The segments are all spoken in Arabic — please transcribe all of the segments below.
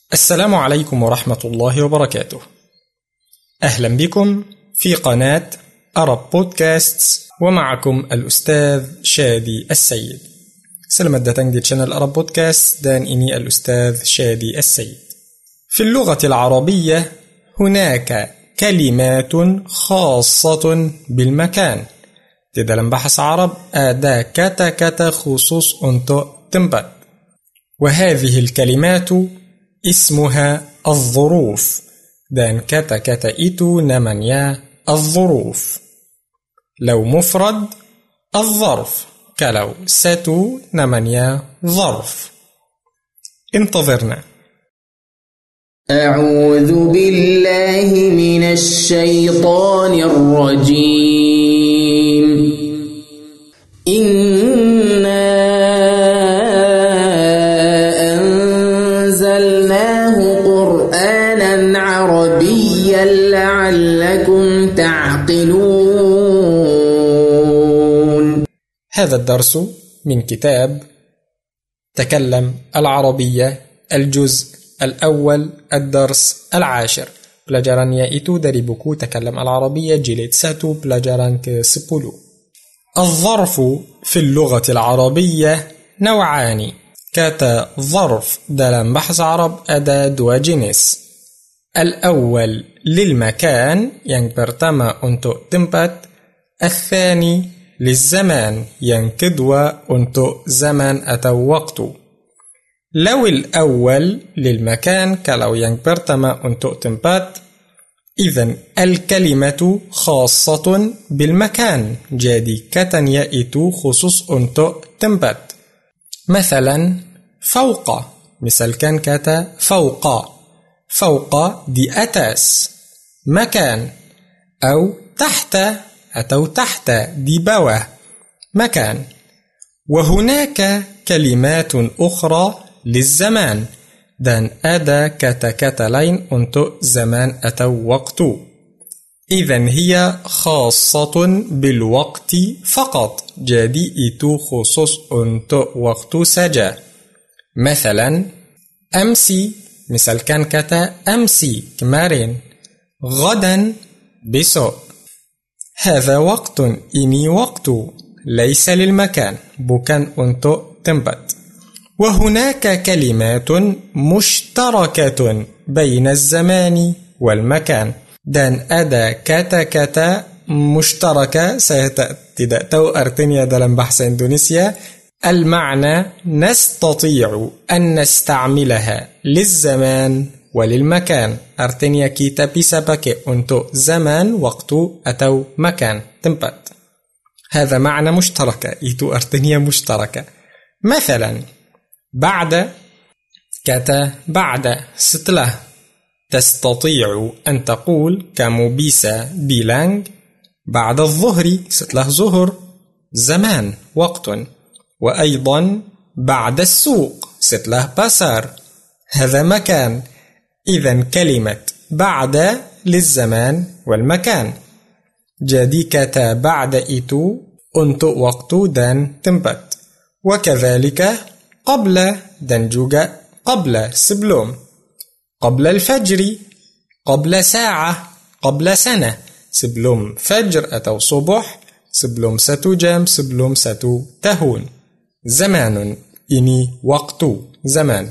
السلام عليكم ورحمة الله وبركاته. أهلا بكم في قناة Arab Podcasts ومعكم الأستاذ شادي السيد. Selamat datang di channel Arab Podcast dan ini الأستاذ شادي السيد. في اللغة العربية هناك كلمات خاصة بالمكان. Di dalam bahasa Arab ada kata-kata khusus untuk tempat. وهذه الكلمات اسمها الظروف dan kata-kata itu namanya الظروف. لو مفرد الظرف، kalau satu namanya ظرف. انتظرنا. أعوذ بالله من الشيطان الرجيم. إنا أنزلناه قرآنا عربيا لعلكم تعقلون. هذا الدرس من كتاب تكلم العربية الجزء الأول الدرس العاشر. Pelajarannya itu dari buku Takallam al-Arabiyya jilid 1 pelajaran ke-10. الظرف في اللغة العربية نوعان. Kata ظرف dalam bahasa Arab ada dua jenis. الأول للمكان yang pertama untuk tempat. الثاني للزمان yang kedua untuk zaman atau waktu. لو الأول للمكان kalau yang pertama untuk tempat إذن الكلمة خاصة بالمكان jadi katanya itu khusus untuk tempat. مثلا فوق misalkan kata فوق فوق di atas مكان أو تحت atau تحت di bawah مكان. وهناك كلمات أخرى للزمان dan ada kata-kata lain untuk zaman atau waktu. إذن هي خاصة بالوقت فقط jadi itu khusus untuk waktu saja. مثلا أمسي misalkan kata أمسي kemarin. غدا besok. هذا وقت ini waktu ليس للمكان bukan untuk tempat. وهناك كلمات مشتركة بين الزمان والمكان dan ada kata-kata مشتركة saya tidak tahu artinya dalam bahasa Indonesia. المعنى نستطيع أن نستعملها للزمان وللمكان artinya kita bisa pakai untuk zaman waktu atau makan tempat. هذا معنى مشتركة itu artinya مشتركة. مثلا بعد kata بعد setelah. تستطيع أن تقول kamu bisa bilang بعد الظهر setelah zuhur زمان وقت. وأيضا بعد السوق setelah pasar هذا مكان. إذن كلمة بعد للزمان والمكان jadi kata بعد itu untuk waktu dan tempat. وكذلك قبل dan juga قبل sebelum. قبل الفجر قبل ساعة قبل سنة sebelum fajr atau subuh sebelum 1 jam sebelum 1 tahun. زمان ini waktu zaman.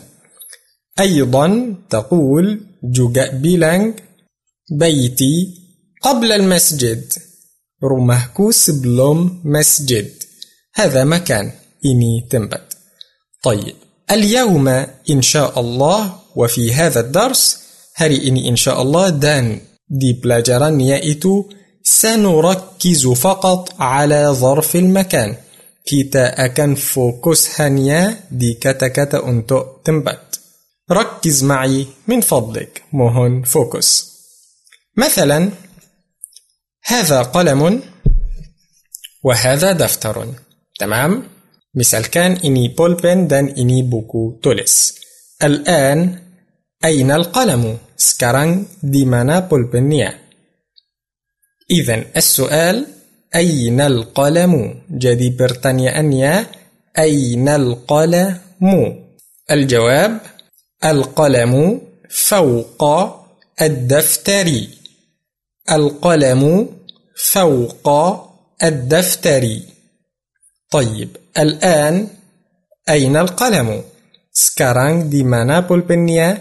أيضا تقول juga bilang بيتي قبل المسجد rumahku sebelum masjid. هذا مكان ini tempat. طيب اليوم إن شاء الله وفي هذا الدرس hari ini إن شاء الله dan di pelajarannya itu سنركز فقط على ظرف المكان. Kita akan fokus hanya di kata-kata untuk tempat. ركز معي من فضلك mohon fokus. مثلا هذا قلم وهذا دفتر. تمام؟ misalkan ini pulpen dan ini buku tulis. الآن أين القلم؟ sekarang di mana pulpennya? إذن السؤال أين القلم؟ jadi pertanyaannya أين القلم؟ الجواب القلم فوق الدفتر. القلم فوق الدفتر. طيب الآن أين القلم؟ Sekarang di mana pulpennya?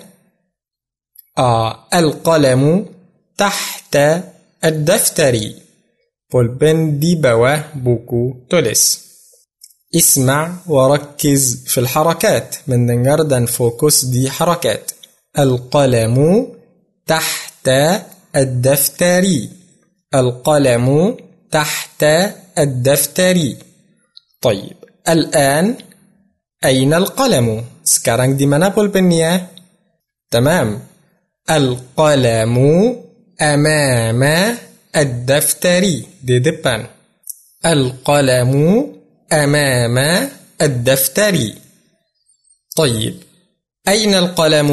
القلم تحت الدفتر. pulpen di bawah buku tulis. اسمع وركز في الحركات. mendengar dan fokus di حركات. القلم تحت الدفتر. القلم تحت الدفتر. طيب الآن أين القلم؟ sekarang di mana pulpennya? تمام. القلم أمام الدفتر. di depan. القلم أمام الدفتر. طيب أين القلم؟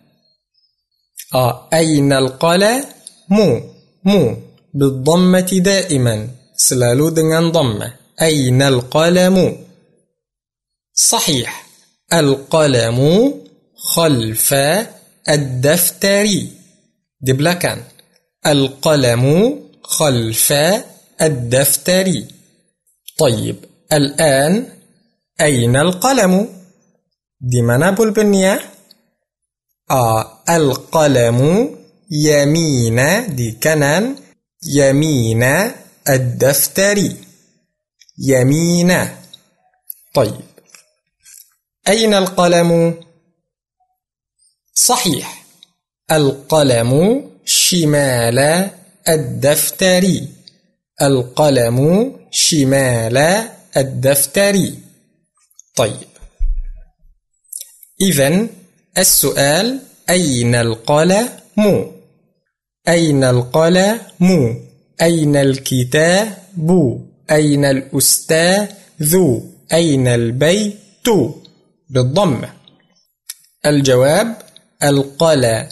أين القلم؟ مو بالضمة دائما. selalu dengan ضمة. أين القلم؟ صحيح. القلم خلف الدفتر. di belakang. القلم خلف الدفتر. طيب الآن أين القلم؟ di mana pulpennya? القلم يمين di kanan. يمين الدفتر. يمين. طيب أين القلم؟ صحيح. القلم شمال الدفتر. القلم شمال الدفتر. طيب إذن السؤال أين القلم؟ أين القلم؟ أين الكتاب؟ أين الأستاذ؟ أين البيت؟ بالضمة. الجواب القلم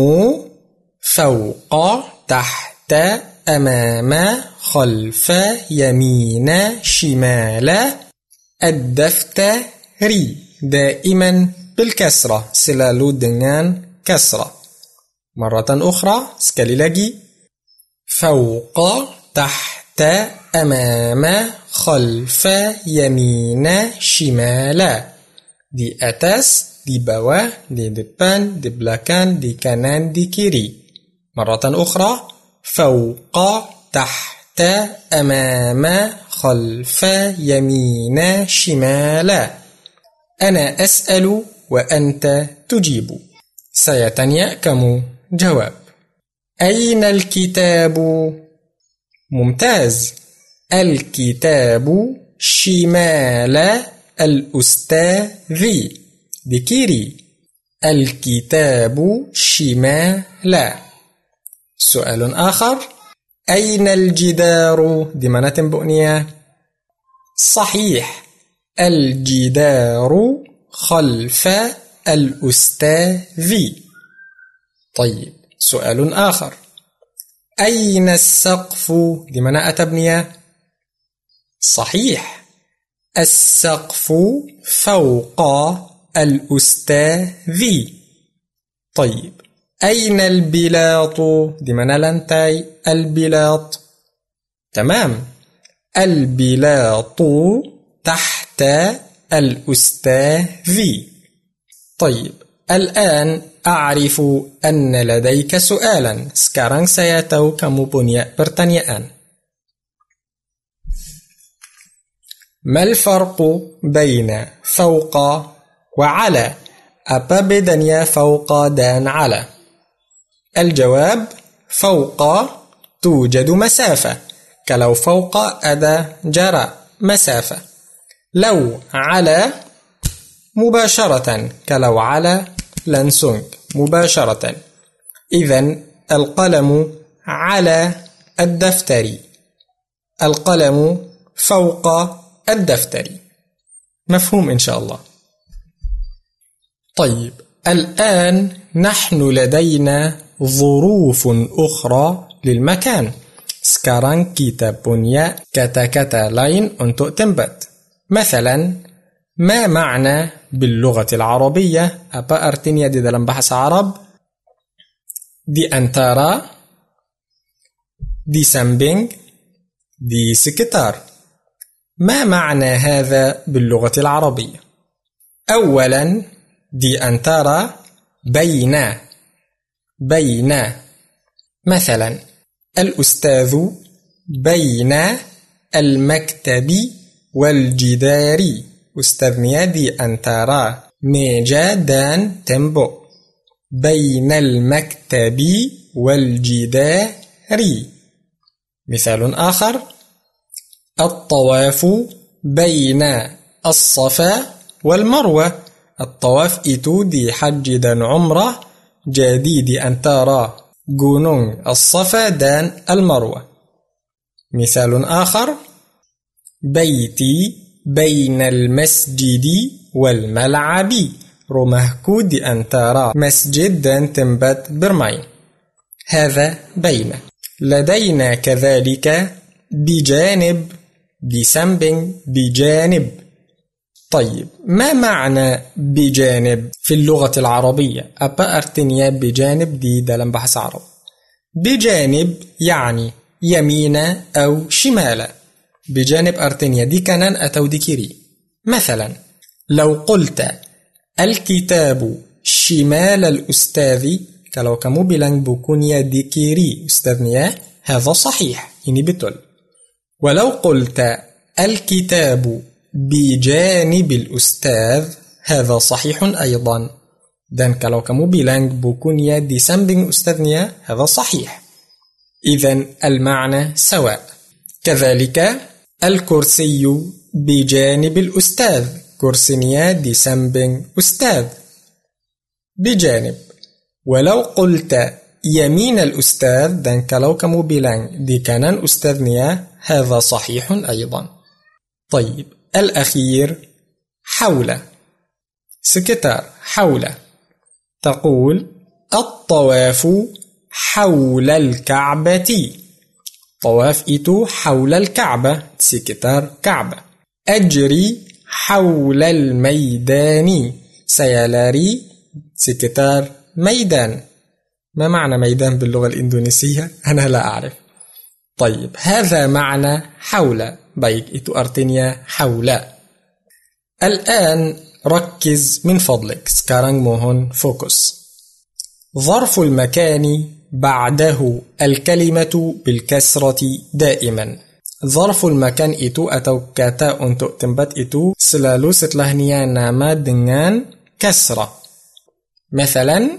فوق تحت أمام خلف يمين شمال الدفتر. دائما بالكسرة. selalu dengan كسرة. مرة أخرى sekali lagi. فوق تحت أمام خلف يمين شمال. di atas, di bawah, di depan, di belakang, di kanan, di kiri. مرة أخرى. فوق تحت أمام خلف يمين شمال. أنا أسأل وأنت تجيب. saya tanya, kamu jawab. أين الكتاب؟ ممتاز. الكتاب شمال الأستاذ. di kiri. الكتاب شمال. سؤال آخر. أين الجدار؟ di mana temboknya؟ صحيح. الجدار خلف الأستاذ. طيب سؤال آخر. أين السقف؟ di mana atapnya؟ صحيح. السقف فوق الأستاذ. طيب أين البلاط؟ di mana lantai البلاط؟ تمام. البلاط تحت الأستاذ. طيب الآن أعرف أن لديك سؤالا. sekarang saya tahu kamu punya pertanyaan. ما الفرق بين فوق وعلى؟ apa bedanya فوق dan على؟ الجواب فوق توجد مسافة. kalau فوق ada jarak, مسافة. لو على مباشرة. kalau على langsung مباشرة. إذن القلم على الدفتر. القلم فوق الدفتر. مفهوم إن شاء الله. طيب الآن نحن لدينا ظروف أخرى للمكان. sekarang kita punya kata-kata lain untuk tempat. مثلا ما معنى باللغة العربية؟ apa artinya di dalam bahasa Arab di antara, di samping, di sekitar. ما معنى هذا باللغة العربية؟ أولا di antara بين مثلا الأستاذ بين المكتب والجدار. أستاذnya di antara meja dan tembok. بين المكتب والجدار. مثال آخر الطواف بين الصفا والمروة. الطواف itu di haji dan umrah, jadi di antara gunung الصفا dan المروة. مثال آخر بيتي بين المسجد والملعب. rumahku di antara masjid dan tempat bermain. هذا بين. لدينا كذلك بجانب، di samping، بجانب. طيب ما معنى بجانب في اللغة العربية؟ Apa artinya بجانب di dalam bahasa Arab؟ بجانب يعني يمين أو شمال. بجانب artinya di kanan atau di kiri. مثلا لو قلت الكتاب شمال الأستاذ، kalau kamu bilang bukunya di kiri ustadznya، هذا صحيح، ini betul. ولو قلت الكتاب بجانب الأستاذ هذا صحيح أيضا. dan kalau kamu bilang bukunya di samping ustadznya هذا صحيح. إذن المعنى سواء. كذلك الكرسي بجانب الأستاذ، كرسيnya di samping أستاذ بجانب. ولو قلت يمين الأستاذ dan kalau kamu bilang di kanan ustadznya هذا صحيح أيضا. طيب الأخير حول، sekitar، حول. تقول الطواف حول الكعبة. طواف itu حول الكعبة، sekitar كعبة. أجري حول الميدان، saya lari sekitar ميدان. ما معنى ميدان باللغة الإندونيسية؟ أنا لا أعرف. طيب هذا معنى حول. baik itu artinya حول. الآن ركز من فضلك. sekarang mohon fokus. ظرف المكان بعده الكلمة بالكسرة دائما. ظرف المكان itu atau kata untuk tempat itu selalu setelahnya nama dengan kasrah. مثلا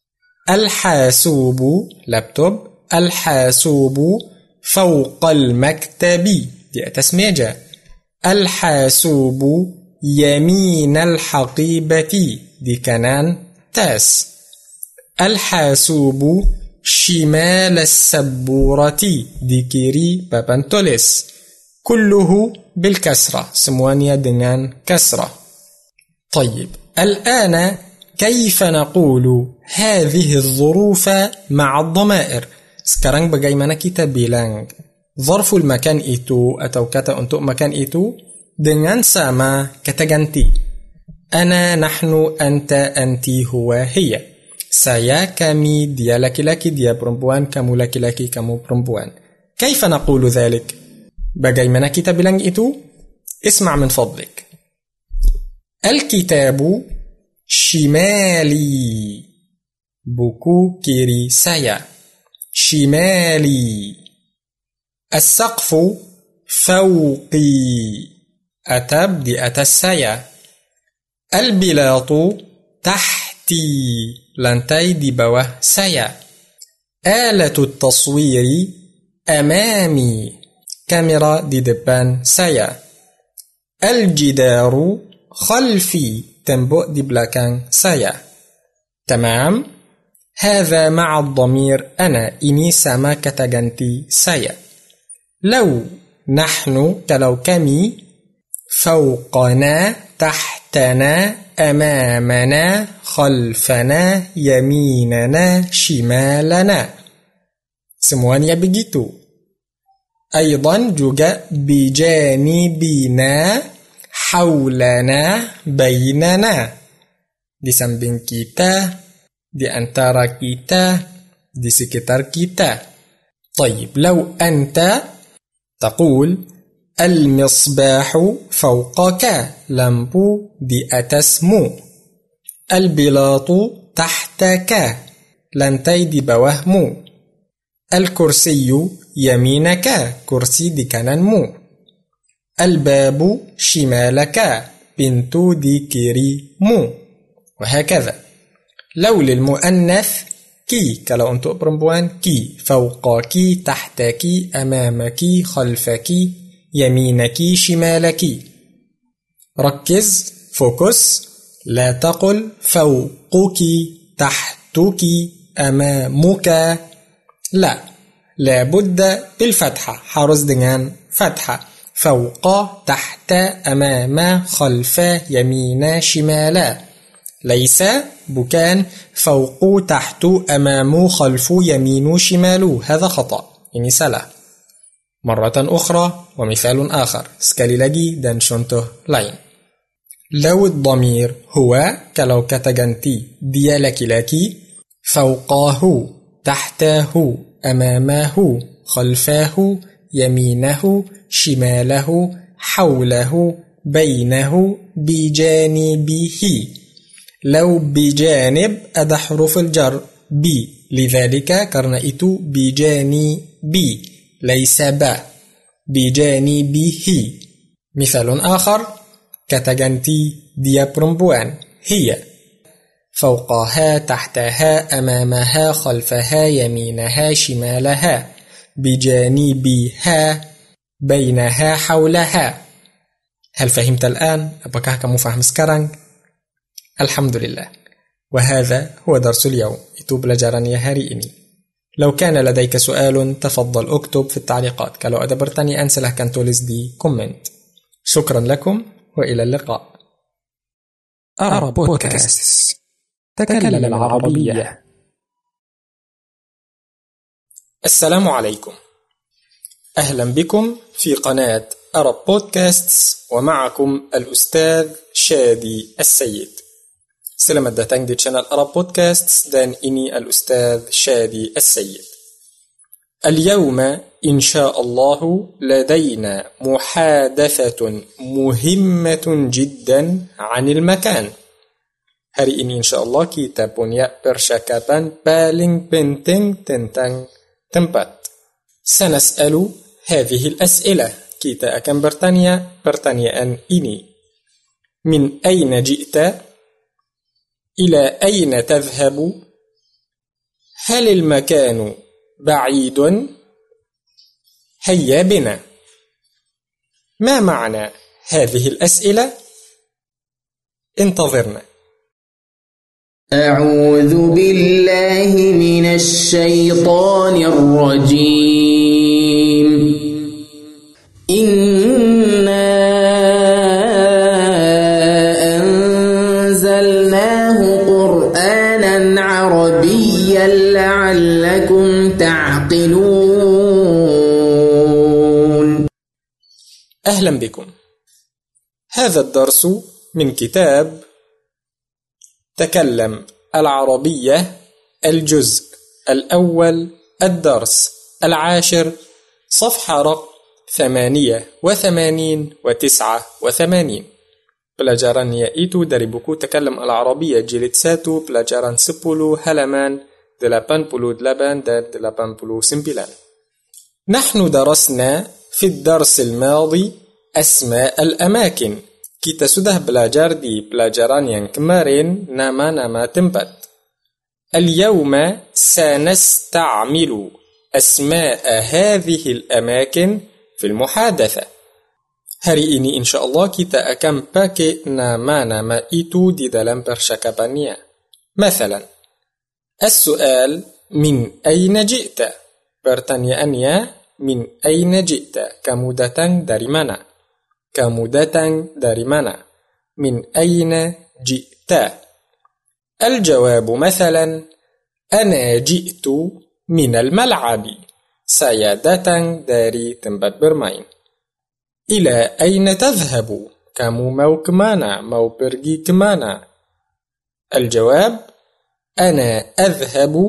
الحاسوب laptop، الحاسوب فوق المكتب di atas meja. الحاسوب يمين الحقيبة di kanan tas. الحاسوب شمال السبورة di kiri papan tulis. كله بالكسرة، semuanya dengan kasrah. طيب الآن كيف نقول هذه الظروف مع الضمائر؟ sekarang bagaimana kita bilang ظرف المكان itu atau kata untuk makan itu dengan sama kata ganti. أنا، نحن، أنت، أنتي، هو، هي. saya، kami، dia laki-laki، dia perempuan، kamu laki-laki، kamu perempuan. كيف نقول ذلك؟ bagaimana kita bilang itu؟ اسمع من فضلك. الكتاب شمالي، buku kiri saya. شمالي. السقف فوقي، atap di atas saya. البلاط تحتي، lantai di bawah saya. آلة التصوير أمامي، kamera di depan saya. الجدار خلفي، tembok di belakang saya. تمام؟ هذا مع الضمير أنا، ini sama kata ganti saya. لو، نحن، kalau kami. فوقنا، تحتنا، أمامنا، خلفنا، يميننا، شمالنا. semuanya begitu. أيضا juga بجانبنا، حولنا، بيننا. di samping kita، di antara kita, di sekitar kita. طيب لو أنت تقول المصباح فوقك، lampu di atasmu. البلاط تحتك، lantai di bawahmu. الكرسي يمينك، kursi di kananmu. الباب شمالك، pintu di kirimu. وهكذا. لو للمؤنث كي، kalau untuk perempuan كي، فوقك، تحتك، أمامك، خلفك، يمينك، شمالك. ركز، فوكس، لا تقل فوقك، تحتك، أمامك. لا، لابد بالفتحة، حرص dengan فتحة. فوق، تحت، أمام، خلف، يمين، شمال. ليس bukan فوق، تحت، أمام، خلف، يمين، شمال. هذا خطأ، ini salah. مرة أخرى ومثال آخر. sekali lagi dan contoh lain. لو الضمير هو، kalau kata ganti dia laki-laki، فوقه، تحته، أمامه، خلفه، يمينه، شماله، حوله، بينه، بجانبه. لو بجانب ada حروف الجر بي، لذلك karena itu بجانبي ليس با، بجانبه. مثال آخر kata ganti dia perempuan هي، فوقها، تحتها، أمامها، خلفها، يمينها، شمالها، بجانبها، بينها، حولها. هل فهمت الآن؟ apakah kamu faham sekarang؟ الحمد لله. وهذا هو درس اليوم. itu pelajarannya hari ini. لو كان لديك سؤال تفضل اكتب في التعليقات. kalau ada pertanyaan silahkan tulis di كومنت. شكرا لكم وإلى اللقاء. أرى بودكاست، تكلم العربية. السلام عليكم، أهلا بكم في قناة أرب بودكاست، ومعكم الأستاذ شادي السيد. Selamat datang di channel Arab Podcasts dan ini الأستاذ شادي السيد. اليوم إن شاء الله لدينا محادثة مهمة جدا عن المكان. Hari ini insya Allah kita punya percakapan paling penting tentang tempat. سنسأل هذه الأسئلة. kita akan bertanya pertanyaan ini. من أين جئت؟ إلى أين تذهب؟ هل المكان بعيد؟ هيا بنا. ما معنى هذه الأسئلة؟ انتظرنا. أعوذ بالله من الشيطان الرجيم. إنا أنزلناه قرآنا عربيا لعلكم تعقلون. أهلا بكم. هذا الدرس من كتاب تكلم العربية، الجزء الأول، الدرس 10، صفحة رقم 88 و89. Pelajaran yaitu dari buku Takalam Al-Arabiyah jilid 1, pelajaran 10, halaman 88 dan 89. نحن درسنا في الدرس الماضي أسماء الأماكن. Kita sudah belajar di pelajaran yang kemarin nama-nama tempat. اليوم سنستعمل أسماء هذه الأماكن في المحادثة. Hari ini insyaallah kita akan pakai nama-nama itu di dalam percakapannya. مثلا السؤال من أين جئت؟ Pertanyaannya من أين جئت? Kamu datang dari mana? Kamu datang dari mana? من أين جئت؟ الجواب مثلا أنا جئت من الملعب. Saya datang dari tempat bermain. إلى أين تذهب؟ Kamu mau kemana? Mau pergi kemana? الجواب أنا أذهب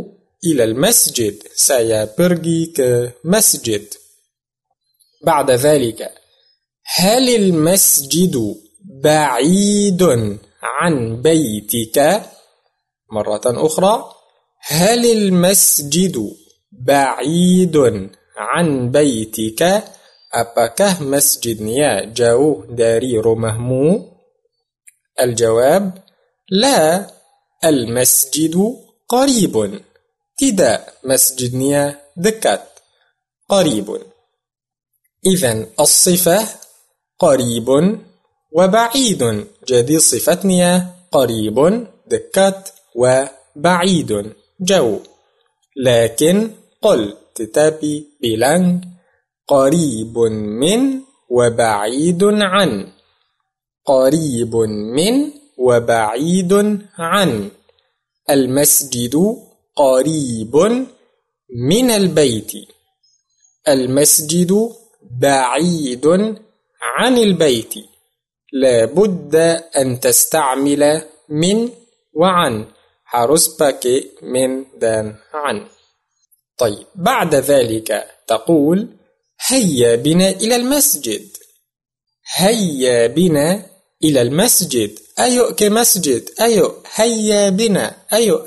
إلى المسجد. Saya pergi ke masjid. بعد ذلك هل المسجد بعيد عن بيتك؟ مرة أخرى هل المسجد بعيد عن بيتك؟ Apakah masjidnya jauh dari rumahmu? الجواب لا المسجد قريب. Tidak, masjidnya dekat. قريب. إذن الصفة قريب وبعيد. Jadi صفتnya قريب dekat وبعيد jauh. لكن قل tetapi bilang قريب من وبعيد عن. قريب من وبعيد عن. المسجد قريب من البيت. المسجد بعيد عن البيت. لا بد أن تستعمل من وعن. harus pakai من dan عن. طيب بعد ذلك تقول هيا بنا إلى المسجد. هيا بنا إلى المسجد. أيو كمسجد. أيو هيا بنا. أيو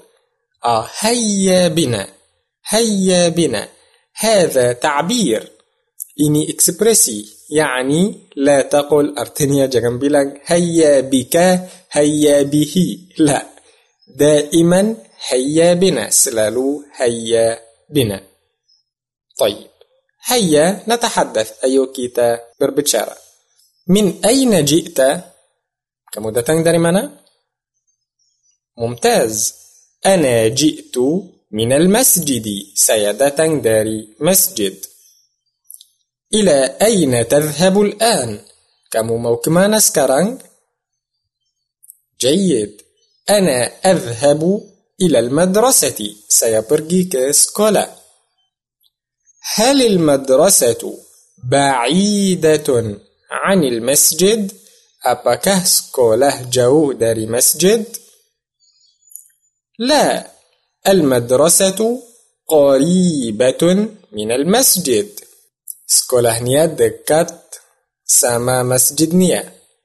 هيا بنا. هيا بنا. هذا تعبير. Ini ekspresi. يعني لا تقل artinya jangan bilang هيا بك هيا به. لا. دائما هيا بنا. selalu هيا بنا. طيب هيا نتحدث. أيو kita berbicara. من أين جئت؟ Kamu datang dari mana؟ ممتاز. أنا جئت من المسجد. Saya datang dari masjid. إلى أين تذهب الآن؟ Kamu mau kemana sekarang؟ جيد. أنا أذهب إلى المدرسة. Saya pergi ke sekolah. هل المدرسة بعيدة عن المسجد؟ Apakah sekolah jauh dari masjid؟ لا. المدرسة قريبة من المسجد. Sekolahnya dekat sama masjidnya.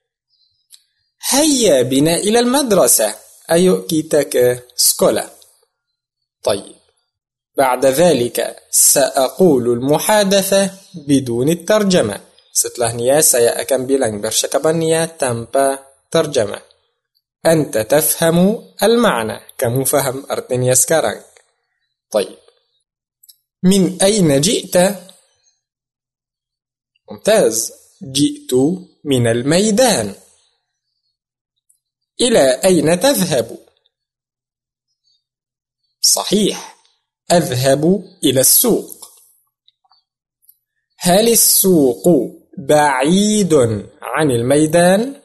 هيا بنا إلى المدرسة. أيو kita ke sekolah. طيب بعد ذلك سأقول المحادثة بدون الترجمة. Setelahnya saya akan bilang percakapannya tanpa terjemah. أنت تفهم المعنى. Kamu faham artinya sekarang. طيب من أين جئت؟ ممتاز. جئت من الميدان. إلى أين تذهب؟ صحيح. أذهب إلى السوق. هل السوق بعيد عن الميدان؟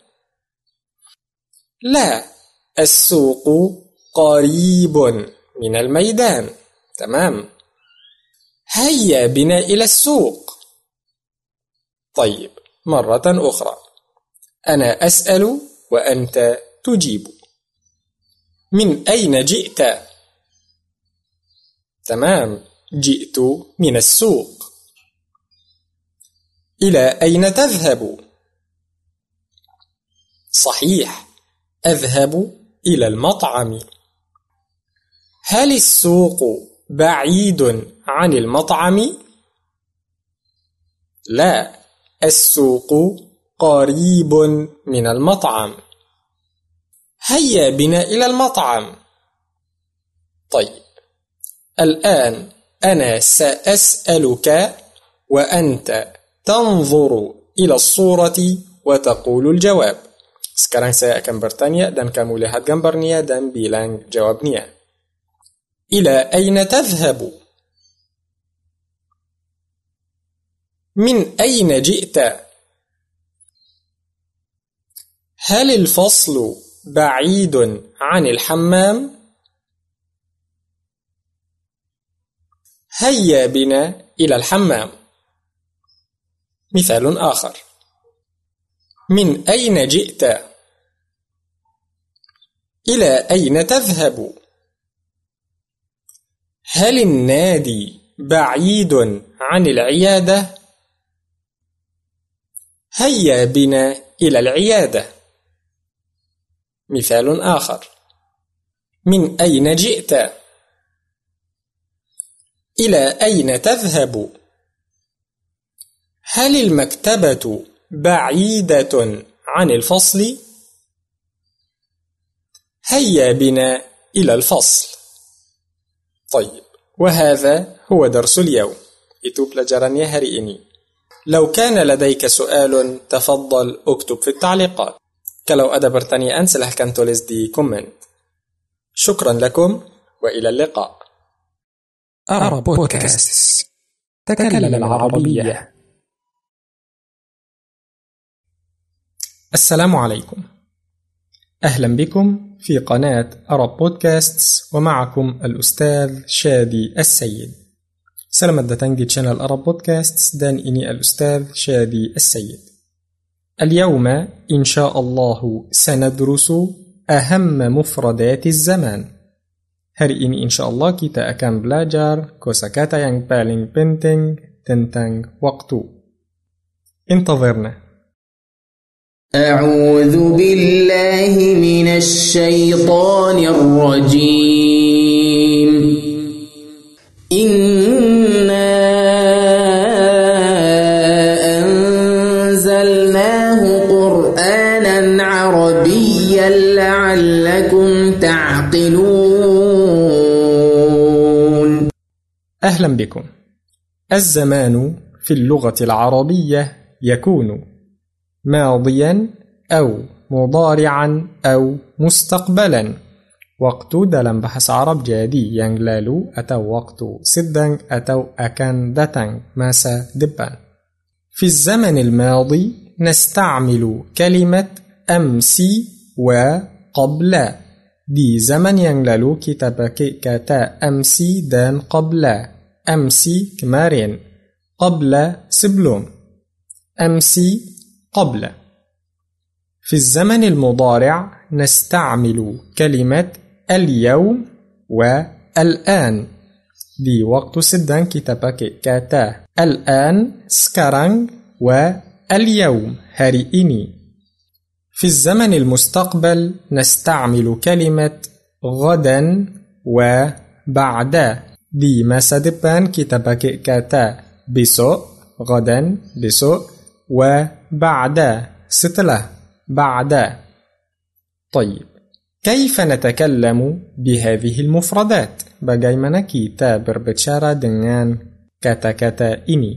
لا. السوق قريب من الميدان. تمام. هيا بنا إلى السوق. طيب مرة أخرى. أنا أسأل وأنت تجيب. من أين جئت؟ تمام. جئت من السوق. إلى أين تذهب؟ صحيح. أذهب إلى المطعم. هل السوق بعيد عن المطعم؟ لا. السوق قريب من المطعم. هيا بنا إلى المطعم. طيب الآن أنا سأسألك وأنت تنظر إلى الصورة وتقول الجواب. Sekarang saya akan bertanya dan kamu lihat gambarnya dan bilang jawabnya. إلى أين تذهب؟ من أين جئت؟ هل الفصل بعيد عن الحمام؟ هيا بنا إلى الحمام. مثال آخر. من أين جئت؟ إلى أين تذهب؟ هل النادي بعيد عن العيادة؟ هيا بنا إلى العيادة. مثال آخر: من أين جئت؟ إلى أين تذهب؟ هل المكتبة بعيدة عن الفصل؟ هيا بنا إلى الفصل. طيب، وهذا هو درس اليوم. Itu pelajarannya hari ini. لو كان لديك سؤال تفضل اكتب في التعليقات. Kalau ada pertanyaan silahkan tulis di komen. شكرا لكم وإلى اللقاء. أرى بودكاست. تكلم العربية. السلام عليكم. أهلا بكم في قناة أرب بودكاستس، ومعكم الأستاذ شادي السيد. Selamat datang di channel Arab Podcasts dan ini الأستاذ شادي السيد. اليوم إن شاء الله سندرس أهم مفردات الزمان. Hari ini insya Allah kita akan belajar kosakata yang paling penting tentang waktu. انتظرنا. أعوذ بالله من الشيطان الرجيم. إنا أنزلناه قرآنا عربيا لعلكم تعقلون. أهلا بكم. الزمان في اللغة العربية يكون ماضيا أو مضارعا أو مستقبلا. Waktu dalam bahasa Arab jadi yang lalu atau waktu sedang atau akan datang, masa depan. في الزمن الماضي نستعمل كلمة أمس وقبل. Di zaman yang lalu kita pakai kata أمس dan قبل. أمس kemarin, قبل sebelum. أمس قبل. في الزمن المضارع نستعمل كلمة اليوم والآن. Di waktu sedang kita pakai kata الآن sekarang واليوم hari ini. في الزمن المستقبل نستعمل كلمة غدا وبعد. Di masa depan kita pakai kata besok, غدا besok, وبعد setelah, بعد. طيب، كيف نتكلم بهذه المفردات؟ Bagaimana kita berbicara dengan kata-kata ini?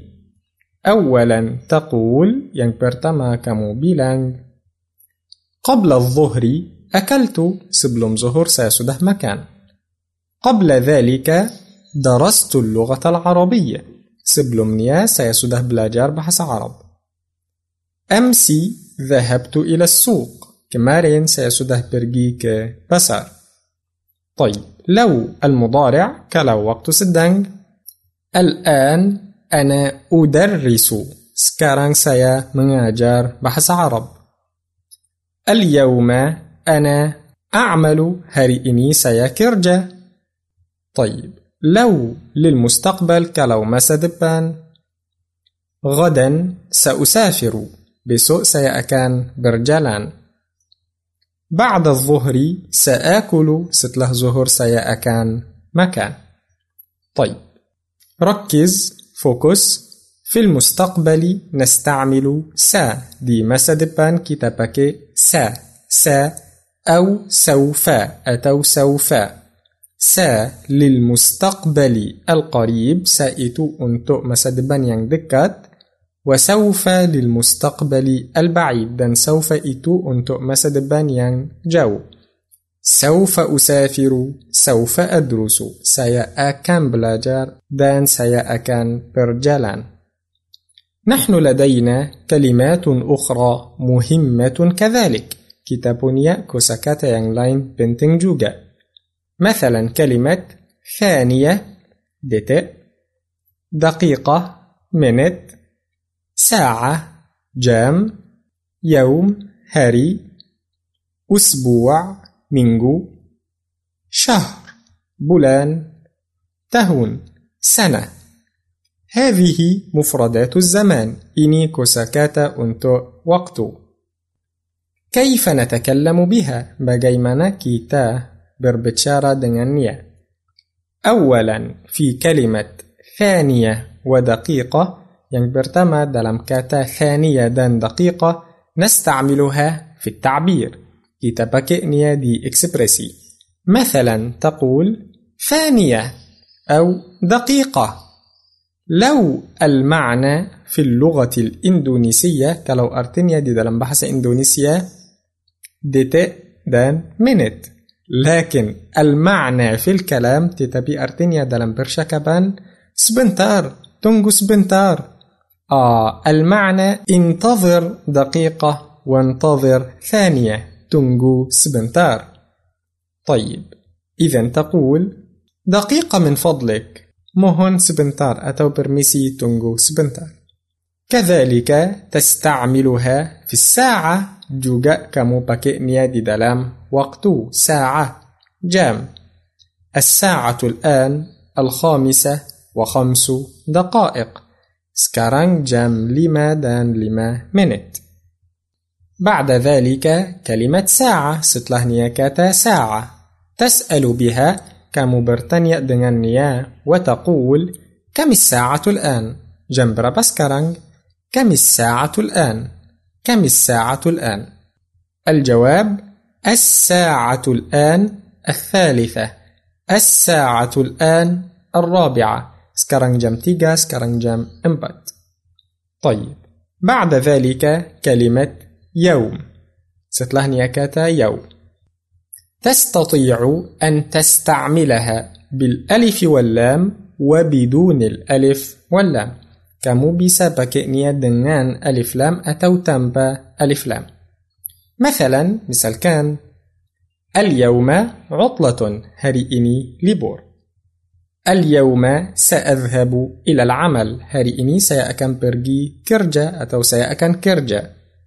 أولا تقول, yang pertama kamu bilang, قبل الظهر أكلت. Sebelum zuhur saya sudah makan. قبل ذلك درست اللغة العربية. Sebelumnya saya sudah belajar bahasa Arab. أمس ذهبت إلى السوق. Kemarin saya sudah pergi ke pasar. طيب، لو المضارع kalau waktu sedang. الآن أنا أدرس. Sekarang saya mengajar bahasa Arab. اليوم أنا أعمل. Hari ini saya kerja. طيب، لو للمستقبل kalau masa depan. غدا سأسافر. Besok saya akan berjalan. بعد الظهر سآكل. Setelah zuhur saya akan makan. طيب، ركز، fokus. في المستقبل نستعمل سا. Di masa depan kita pakai سا. سا أو سوف atau سوف. سا للمستقبل القريب. سا itu untuk masa depan yang dekat. وسوف للمستقبل البعيد. dan سوف itu untuk masa depan yang jauh. سوف أسافر. سوف أدرس. saya akan belajar dan saya akan berjalan. نحن لدينا كلمات أخرى مهمة كذلك. kita punya kosakata yang lain penting juga. مثلا كلمة ثانية detik, دقيقة minute, ساعة jam, يوم hari, أسبوع minggu, شهر bulan, tahun, sana. Hadhihi mufradatu zaman. Ini kosakata untuk waktu. Kaifa natakallamu biha? Bagaimana kita berbicara dengannya? Awalan, fi kalimat thaniyah wa daqiqah. Yang pertama dalam kata thaniyah dan daqiqah, nasta'miluha fi at-ta'bir. Kita pakainya di ekspresi. Mathalan, taqul thaniyah أو دقيقة. لو المعنى في اللغة الإندونيسية kalau artinya di dalam bahasa Indonesia detik dan menit, لكن المعنى في الكلام tetapi artinya dalam percakapan sebentar, tunggu sebentar. المعنى انتظر دقيقة وانتظر ثانية, tunggu sebentar. طيب, إذن تقول دقيقة من فضلك, mohon sebentar atau permisi tunggu sebentar. كذلك تستعملها في الساعة, juga kamu pakainya di dalam waktu, ساعة, jam. الساعة الآن 5:05. Sekarang jam 5 dan 5 menit. بعد ذلك كلمة ساعة, setelahnya kata ساعة. تسأل بها, kamu bertanya dengannya, وتقول كم الساعة الآن? Jam berapa sekarang? كم الساعة الآن؟ كم الساعة الآن؟ الجواب الساعة الآن 3, الساعة الآن 4. Sekarang jam 3, sekarang jam 4. طيب, بعد ذلك كلمة يوم, setelahnya kata يوم. تستطيع أن تستعملها بالألف واللام وبدون الألف واللام. Kamu bisa pakainya dengan alif lam atau tanpa alif lam. مثلا, misalkan اليوم عطلة, hari ini libur. اليوم سأذهب إلى العمل, hari ini saya akan pergi kerja atau saya akan kerja.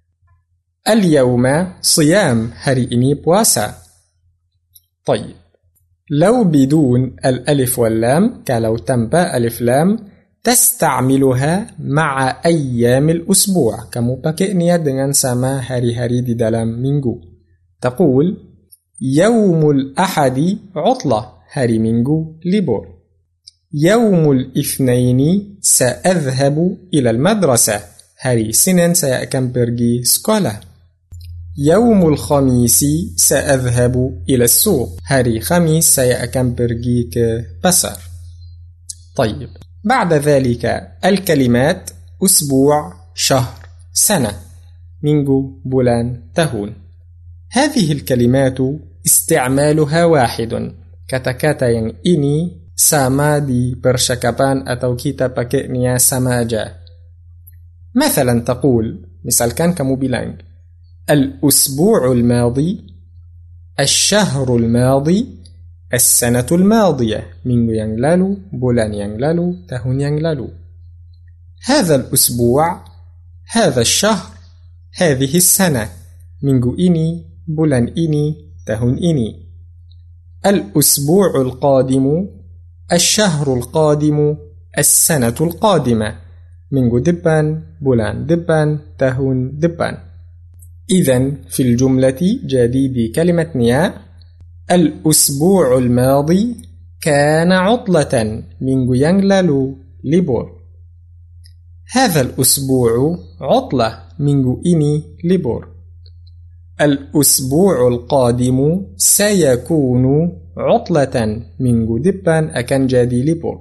اليوم صيام, hari ini puasa. طيب, لو بدون الألف واللام, kalau tanpa alif lam, تستعملها مع أيام الأسبوع. Kamu pakainya dengan sama hari-hari di dalam minggu. تقول يوم الأحد عطلة, hari minggu libur. يوم الاثنين سأذهب إلى المدرسة, hari Senin saya akan pergi sekolah. يوم الخميس سأذهب إلى السوق, hari Khamis saya akan pergi ke pasar. طيب, بعد ذلك الكلمات أسبوع, شهر, سنة, minggu, bulan, tahun. هذه الكلمات استعمالها واحد. Kata-kata yang ini sama di percakapan atau kita pakainya sama aja. مثلا تقول, misalkan kamu bilang الأسبوع الماضي, الشهر الماضي, السنة الماضية, minggu yang lalu, bulan yang lalu, tahun yang lalu. هذا الأسبوع, هذا الشهر, هذه السنة, minggu ini, bulan ini, tahun ini. الأسبوع القادم, الشهر القادم, السنة القادمة, minggu depan, bulan depan, tahun depan. إذن في الجملة جديد كلمة نيا, الأسبوع الماضي كان عطلة, minggu yang lalu libur. هذا الأسبوع عطلة, minggu ini libur. الأسبوع القادم سيكون عطلة, minggu depan akan jadi libur.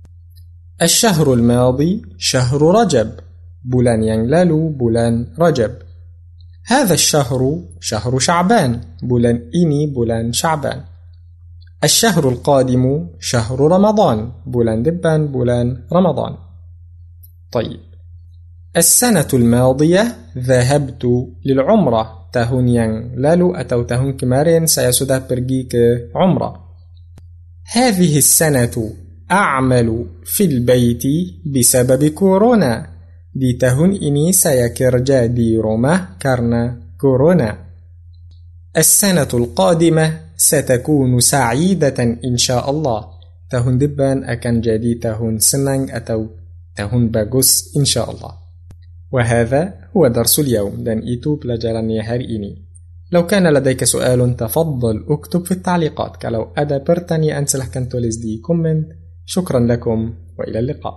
الشهر الماضي شهر رجب, bulan yang lalu bulan Rajab. هذا الشهر شهر شعبان, bulan ini bulan Sya'ban. الشهر القادم شهر رمضان, bulan depan bulan Ramadan. طيب, السنة الماضية ذهبت للعمرة, tahun yang lalu atau tahun kemarin saya sudah pergi ke umrah. هذه السنة أعمل في البيت بسبب كورونا, di tahun ini saya kerja di rumah karena corona. السنة القادمة ستكون سعيدة إن شاء الله, tahun depan akan jadi tahun senang atau tahun bagus insyaallah. وهذا هو درس اليوم dan itu pelajarannya hari ini. لو كان لديك سؤال تفضل اكتب في التعليقات. Kalau ada pertanyaan silahkan tulis di komen. شكرا لكم وإلى اللقاء.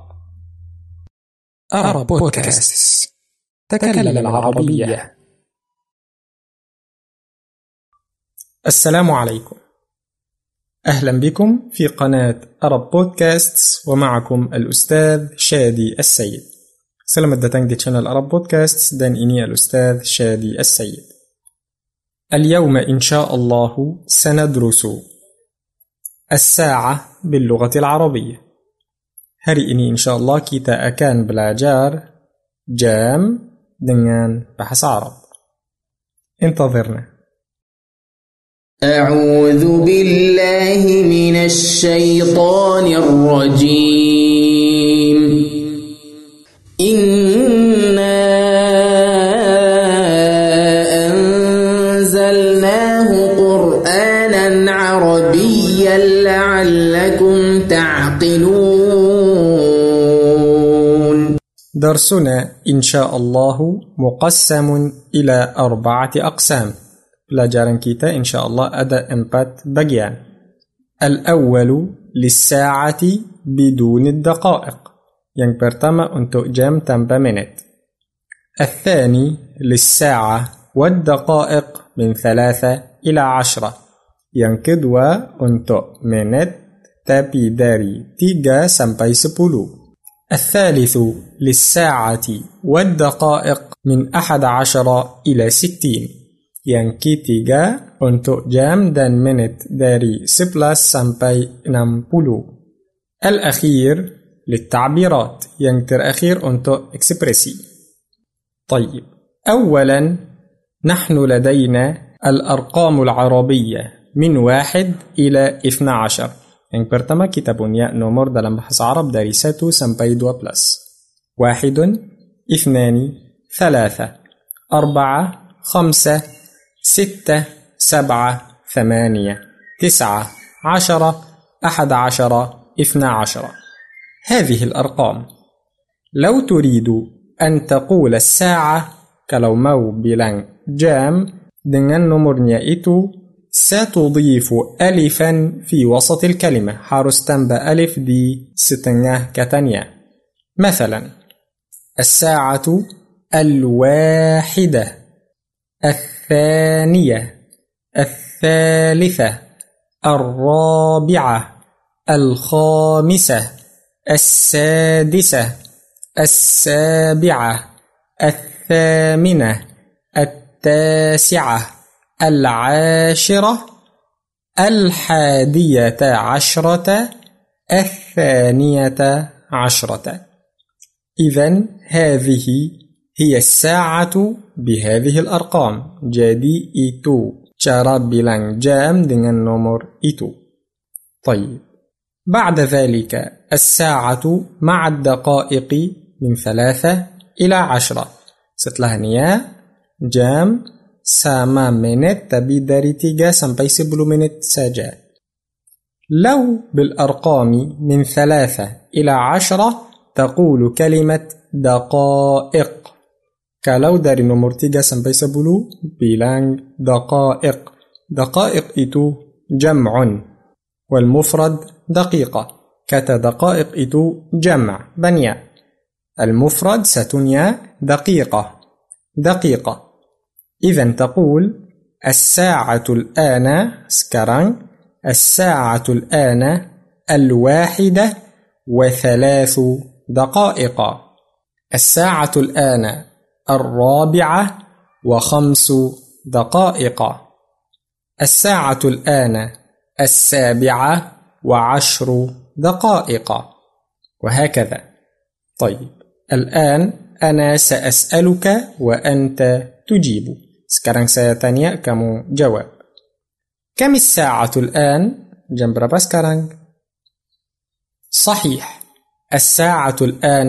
أرب بودكاست. تكلم العربية. السلام عليكم. أهلا بكم في قناة أرب بودكاست ومعكم الأستاذ شادي السيد. Selamat datang di channel Arab Podcasts dan ini الأستاذ شادي السيد. اليوم إن شاء الله سندرس الساعة باللغة العربية. Hari ini insyaallah kita akan belajar jam dengan bahasa Arab. انتظرنا. أعوذ بالله من الشيطان الرجيم. إنا أنزلناه قرآنا عربيا لعلكم تعقلون. درسنا إن شاء الله مقسم إلى 4 أقسام. Pelajaran kita insyaallah ada 4 bagian. الأول للساعة بدون الدقائق. Yang pertama untuk jam tanpa menit. الثاني للساعة والدقائق من 3 إلى 10. Yang kedua untuk menit tapi dari 3 sampai 10. الثالث للساعة والدقائق من 11 إلى 60. Yang ketiga untuk jam dan menit dari 11 sampai 60. الأخير للتعبيرات. Yang terakhir untuk ekspresi. طيب. أولا نحن لدينا الأرقام العربية من 1 إلى 12. Yang pertama kita punya nomor dalam bahasa Arab dari 1 sampai 12. 1 2 3 4 5 6 7 8 9 10 11 12. هذه الأرقام. لو تريد أن تقول الساعة kalau mau bilang jam dengan nomornya itu ستضيف ألفا في وسط الكلمة. harus tambah ألف di setengah katanya. مثلا الساعة 1 الثانية 3 4 5 6 7 8 9 10 11 12. إذن هذه هي الساعة بهذه الأرقام. Jadi itu cara bilang jam dengan nomor itu. طيب. بعد ذلك الساعة مع الدقائق من 3 إلى 10. Setelahnya jam sama menit tapi dari 3 sampai 10 menit saja. لو بالأرقام من 3 إلى 10 تقول كلمة دقائق. Kalau dari nomor 3 sampai 10 bilang دقائق. دقائق itu جمع والمفرد دقيقة. Kata دقائق itu جمع banyak. المفرد satunya دقيقة. دقيقة. إذن تقول الساعة الآن sekarang الساعة الآن 1:03 دقائق. الساعة الآن 4:05 دقائق. الساعة الآن 7:10 دقائق. وهكذا. طيب. الآن أنا سأسألك وأنت تجيب. Sekarang saya tanya, kamu jawab. كم الساعة الآن? Jam berapa sekarang? صحيح. الساعة الآن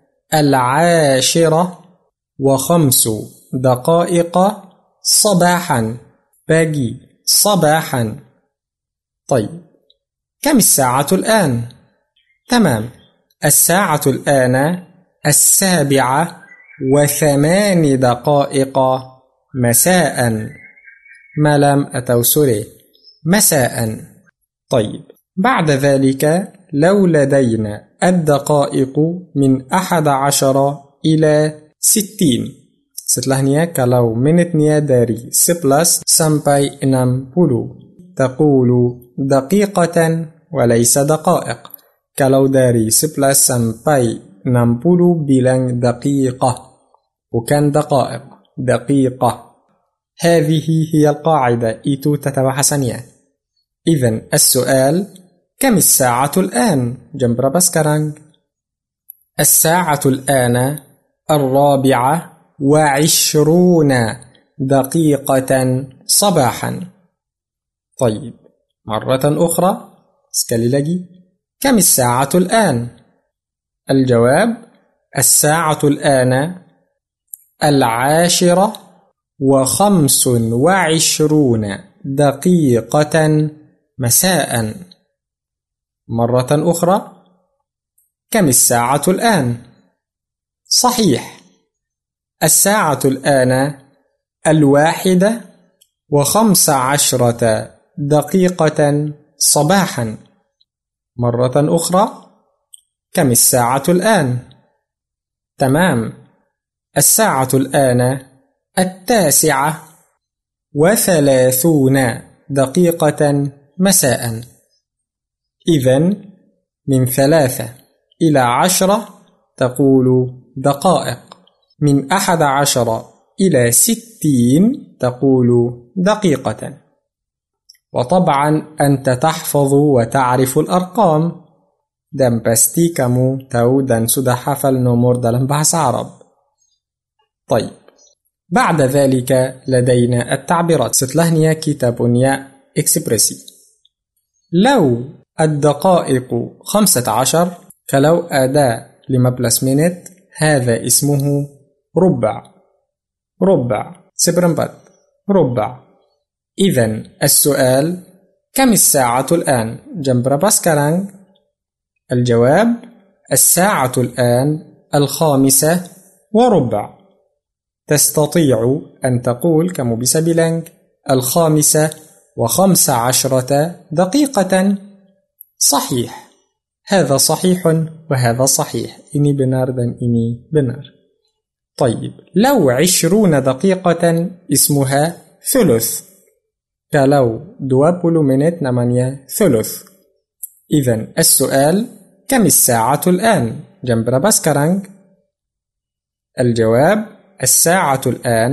10:05 دقائق صباحا. pagi. صباحا. طيب. كم الساعة الآن؟ تمام، الساعة الآن 7:08 مساء. ملام أتوسري مساء. طيب، بعد ذلك لو لدينا الدقائق من 11 إلى 60. Setelahnya kalau menitnya dari 11 sampai 60 تقول دقيقة وليس دقائق. Kalau dari 11 sampai 60 bilang دقيقة bukan دقائق. دقيقة. هذه هي القاعدة. itu tata bahasanya. إذن السؤال كم الساعة الآن؟ jam berapa sekarang؟ الساعة الآن 24 دقيقة صباحا. طيب، مرة أخرى sekali lagi. كم الساعة الآن؟ الجواب الساعة الآن 10:25 دقيقة مساء. مرة أخرى، كم الساعة الآن؟ صحيح، الساعة الآن 1:15 دقيقة صباحا. مرة أخرى، كم الساعة الآن؟ تمام، الساعة الآن 9:30 دقيقة مساء. إذن من 3 إلى 10 تقول دقائق. من 11 إلى 60 تقول دقيقة. وطبعا أنت تحفظ وتعرف الأرقام. dan pasti kamu tahu dan sudah hafal nomor dalam bahasa Arab. طيب، بعد ذلك لدينا التعبيرات. setelahnya kita punya ekspresi. لو الدقائق 15 kalau ada 15 menit هذا اسمه ربع. ربع seperempat. ربع. إذن السؤال كم الساعة الآن؟ jam berapa sekarang؟ الجواب الساعة الآن 5:15. تستطيع أن تقول kamu bisa bilang 5:15 دقيقة. صحيح، هذا صحيح وهذا صحيح. ini benar dan ini benar. طيب، لو 20 دقيقة اسمها ثلث. kalau 20 menit namanya ثلث. إذن السؤال كم الساعة الآن؟ jam berapa sekarang؟ الجواب الساعة الآن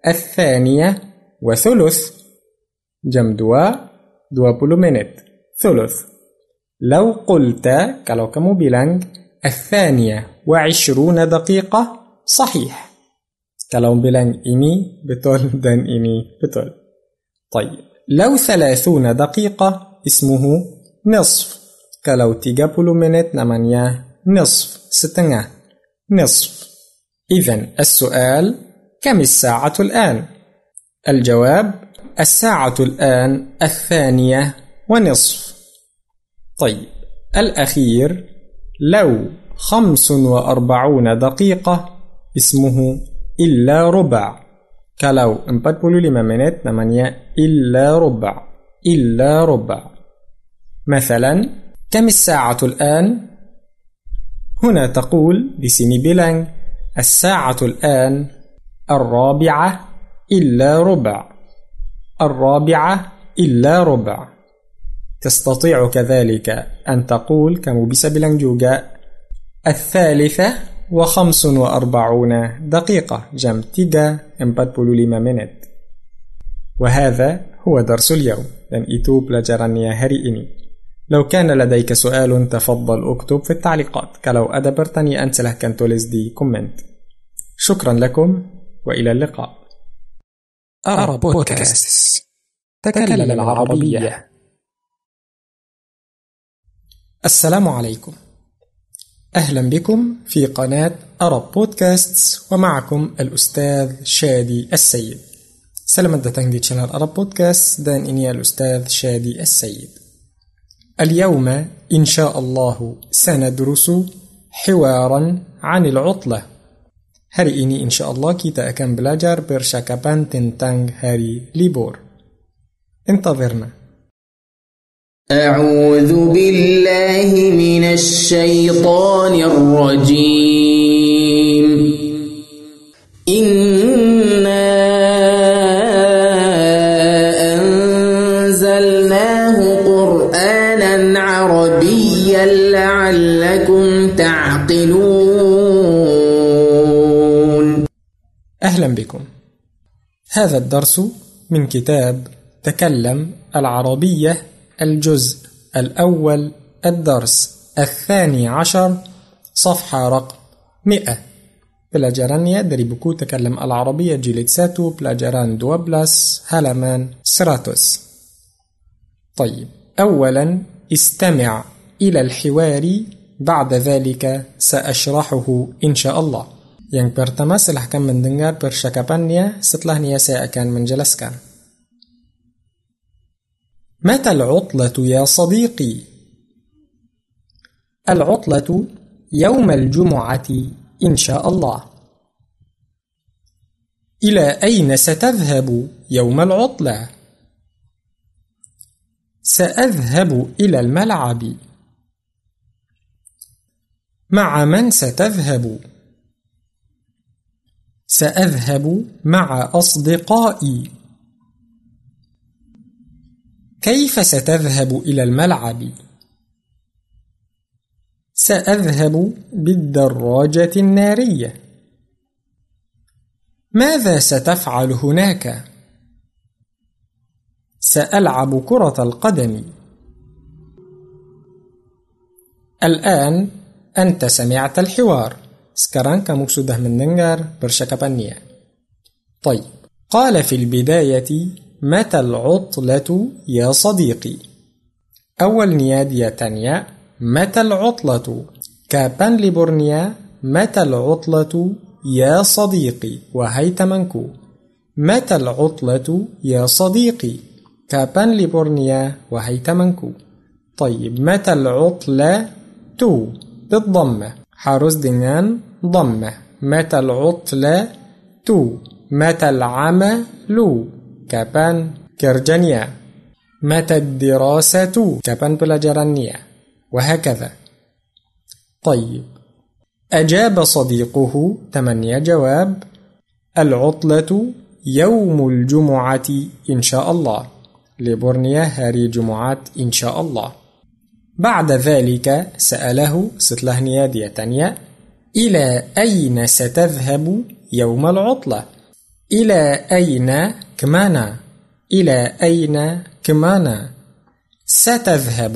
2:30. jam 2 20 menit. ثلث. لو قلت kalau kamu bilang 22 دقيقة صحيح. kalau bilang ini betul dan ini betul. طيب، لو 30 دقيقة اسمه نصف. kalau 30 menit namanya نصف. setengah. نصف. إذن السؤال كم الساعة الآن؟ الجواب الساعة الآن 2:30. طيب، الأخير لو 45 دقيقة اسمه إلا ربع. kalau 45 menit namanya إلا ربع. إلا ربع. مثلا كم الساعة الآن؟ هنا تقول di sini bilang الساعة الآن 4:04. 4:04. تستطيع كذلك أن تقول kamu bisa bilang juga 3:45 دقيقة. jam 3:45 menit. وهذا هو درس اليوم. dan itu pelajarannya hari ini. لو كان لديك سؤال تفضل اكتب في التعليقات. kalau ada pertanyaan silahkan tulis di komen. شكرا لكم وإلى اللقاء. أرب بودكاست. تكلم العربية. السلام عليكم. أهلا بكم في قناة أرب بودكاست ومعكم الأستاذ شادي السيد. Selamat datang di channel Arab Podcast dan ini Al-Ustadz Shadi As-Sayyid. اليوم إن شاء الله سندرس حوارا عن العطلة. Hari ini insya Allah kita akan belajar percakapan tentang hari libur. انتظرنا. أعوذ بالله من الشيطان الرجيم. إنا أنزلناه قرآنا عربيا لعلكم تعقلون. أهلا بكم. هذا الدرس من كتاب تكلم العربية الجزء الأول الدرس 12 صفحة رقم 100. Pelajarannya dari buku Takalam Al-Arabiyah jilid 1 pelajaran 12 halaman 100. طيب أولا استمع إلى الحوار بعد ذلك سأشرحه إن شاء الله. Yang pertama silahkan mendengar percakapannya, setelahnya saya akan menjelaskan. متى العطلة يا صديقي؟ العطلة يوم الجمعة إن شاء الله. إلى أين ستذهب يوم العطلة؟ سأذهب إلى الملعب. مع من ستذهب؟ سأذهب مع أصدقائي. كيف ستذهب إلى الملعب؟ سأذهب بالدراجة النارية. ماذا ستفعل هناك؟ سألعب كرة القدم. الآن أنت سمعت الحوار. Sekarang kamu sudah mendengar percakapannya. طيب قال في البداية متى العطلة يا صديقي. أول نيادية تانية متى العطلة. Kapan liburnya؟ متى العطلة يا صديقي. وهي temanku. متى العطلة يا صديقي. Kapan liburnya? وهي temanku. طيب متى العطلة بالضمة. harus dengan ضمة. متى العطلة متى العمل kapan kerjanya. متى الدراسة kapan pelajarannya. وهكذا. طيب أجاب صديقه تمني جواب العطلة يوم الجمعة إن شاء الله. liburnya hari Jumat إن شاء الله. بعد ذلك سأله setelah niadiyah tanya إلى أين ستذهب يوم العطلة. إلى أين kemana. إلى أين kemana. ستذهب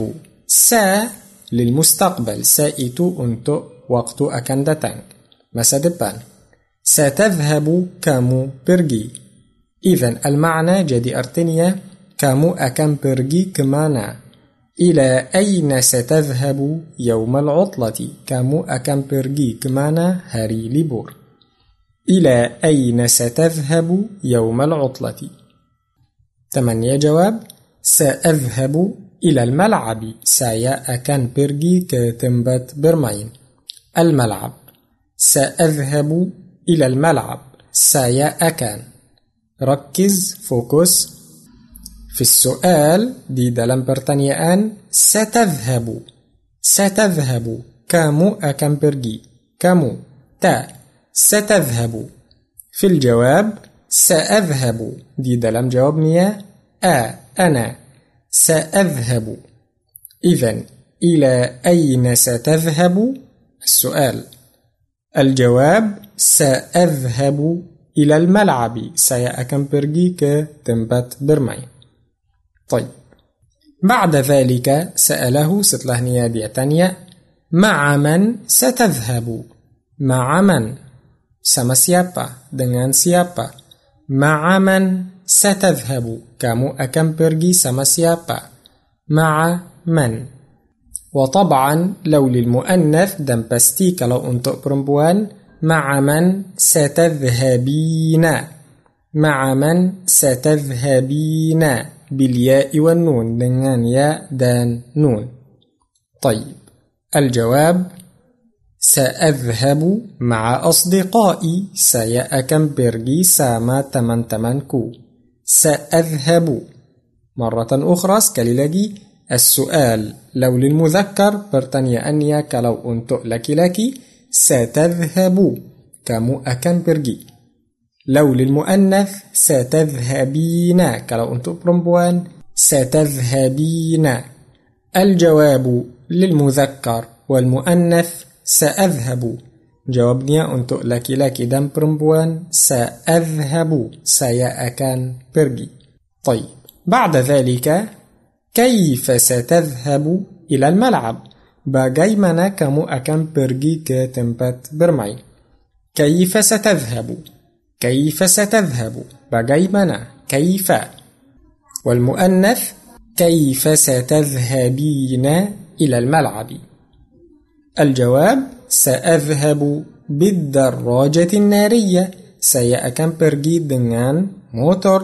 للمستقبل. itu untuk waktu akan datang, masa depan. ستذهب kamu pergi. إذن المعنى jadi artinya kamu akan pergi kemana. إلى أين ستذهب يوم العطلة. kamu akan pergi kemana hari libur. إلى أين ستذهب يوم العطلة. تمني جواب سأذهب إلى الملعب. saya akan pergi ke tempat bermain. الملعب. سأذهب إلى الملعب. saya akan. ركز fokus في السؤال di dalam pertanyaan ستذهب. kamu akan pergi. kamu ستذهب. في الجواب سأذهب di dalam jawabnya أنا سأذهب. إذن إلى أين ستذهب السؤال. الجواب سأذهب إلى الملعب. saya akan pergi ke tempat bermain. طيب بعد ذلك سأله setelah niadiyah tanya مع من ستذهب. مع من sama siapa, dengan siapa. مع من ستذهب kamu akan pergi sama siapa. مع من. وطبعا لو للمؤنث dan pasti kalau untuk perempuan مع من ستذهبين. مع من ستذهبين بالياء والنون dengan ya dan nun. طيب الجواب سأذهب مع أصدقائي. Saya akan pergi sama teman-temanku. سأذهب. مرة أخرى sekali lagi. السؤال لو للمذكر pertanyaannya kalau untuk laki-laki ستذهب, kamu akan pergi. لو للمؤنث ستذهبين, kalau untuk perempuan ستذهبين. الجواب للمذكر والمؤنث سأذهب. Jawabnya untuk laki-laki dan perempuan سأذهب, saya akan pergi. طيب بعد ذلك كيف ستذهب إلى الملعب. Bagaimana kamu akan pergi ke tempat bermain. كيف ستذهب, كيف ستذهب, bagaimana, كيف. والمؤنث كيف ستذهبين إلى الملعب. الجواب سأذهب بالدراجة النارية. Saya akan pergi dengan motor.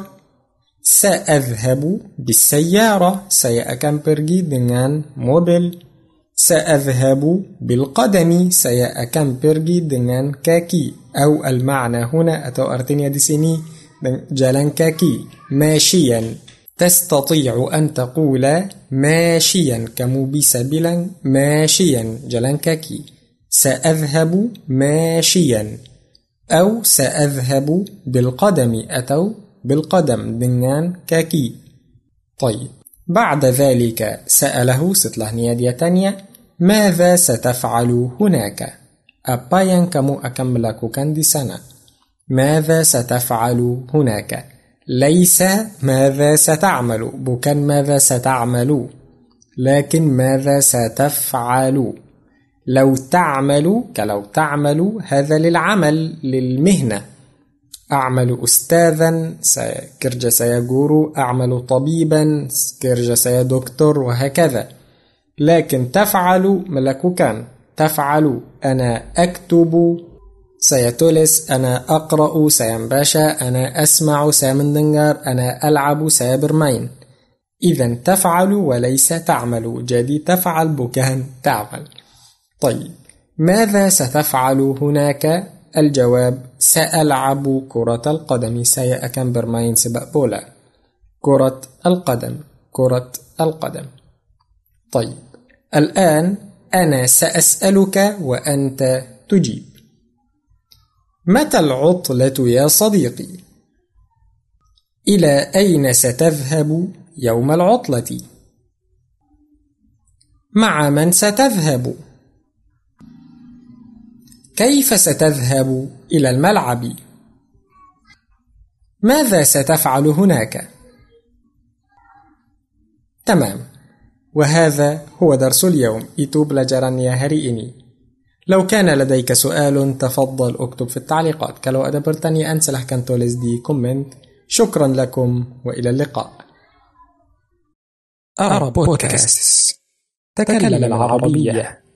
سأذهب بالسيارة. Saya akan pergi dengan mobil. سأذهب بالقدم. Saya akan pergi dengan kaki. أو المعنى هنا atau artinya di sini jalan kaki. ماشيا. تستطيع أن تقول ماشيا, kamu bisa bilang ماشيا, jalan kaki. سأذهب ماشيا أو سأذهب بالقدم atau بالقدم dengan kaki. طيب بعد ذلك سأله setelahnya dia tanya ماذا ستفعل هناك. Apa yang kamu akan melakukan di sana. ماذا ستفعل هناك. ليس ماذا ستعمل, bukan ماذا ستعمل, لكن ماذا ستفعل. لو تعمل, kalau تعمل هذا للعمل, للمهنة. أعمل أستاذا, kerja saya guru. أعمل طبيبا, kerja saya doktor, وهكذا. لكن تفعل melakukan. تفعل أنا أكتب, saya tulis. أنا أقرأ, saya membaca. أنا أسمع, saya mendengar. أنا ألعب, saya bermain. إذن تفعل وليس تعمل. jadi تفعل bukan تعمل. طيب ماذا ستفعل هناك. الجواب سألعب كرة القدم. saya akan bermain sepak bola. كرة القدم, كرة القدم. طيب الآن أنا سأسألك وأنت تجيب. متى العطلة يا صديقي. إلى أين ستذهب يوم العطلة. مع من ستذهب. كيف ستذهب إلى الملعب. ماذا ستفعل هناك. تمام. وهذا هو درس اليوم. Itu pelajarannya hari ini. لو كان لديك سؤال تفضل اكتب في التعليقات. Kalau ada pertanyaan silahkan tulis di komen. شكرا لكم وإلى اللقاء. أرى بودكاست. تكلم العربية.